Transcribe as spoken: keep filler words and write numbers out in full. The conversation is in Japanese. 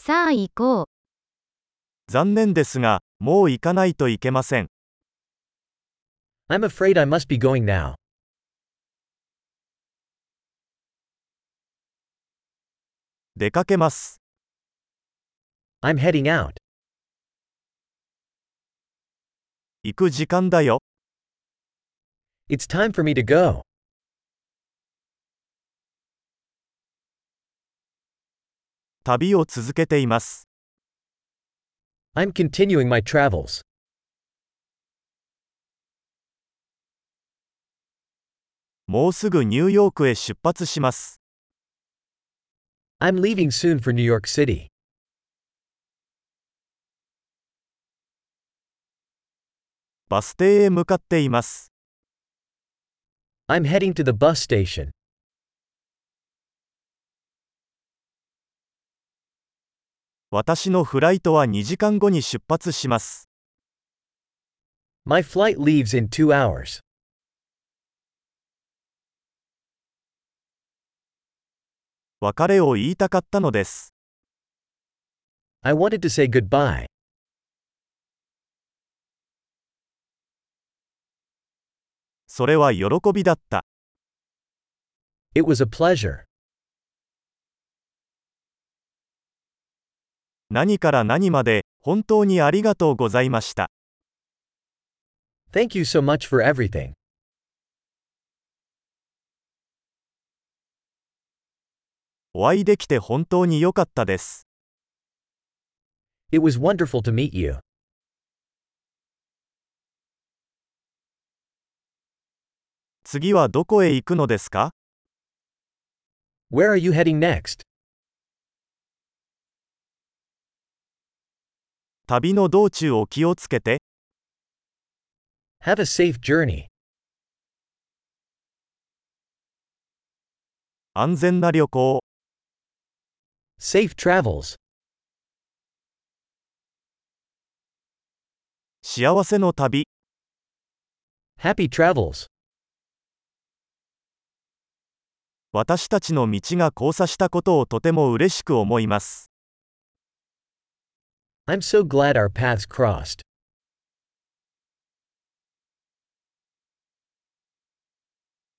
さあ行こう。 残念ですが、もう行かないといけません。 I'm afraid I must be going now. 出かけます。 I'm heading out. 行く時間だよ。 It's time for me to go. 旅を続けています。 I'm continuing my travels. もうすぐニューヨークへ出発します。 I'm leaving soon for New York City. バス停へ向かっています。 I'm heading to the bus station. 私のフライトはにじかんごに出発します。 My flight leaves in two hours. 別れを言いたかったのです。 I wanted to say goodbye. それは喜びだった。 It was a pleasure. 何から何まで、本当にありがとうございました。 Thank you so much for everything. お会いできて本当に良かったです。 It was wonderful to meet you. 次はどこへ行くのですか？ Where are you heading next? 旅の道中を気をつけて。 Have a safe journey. 安全な旅行。 Safe travels. 幸せの旅。 Happy travels. 私たちの道が交差したことをとても嬉しく思います。 I'm so glad our paths crossed.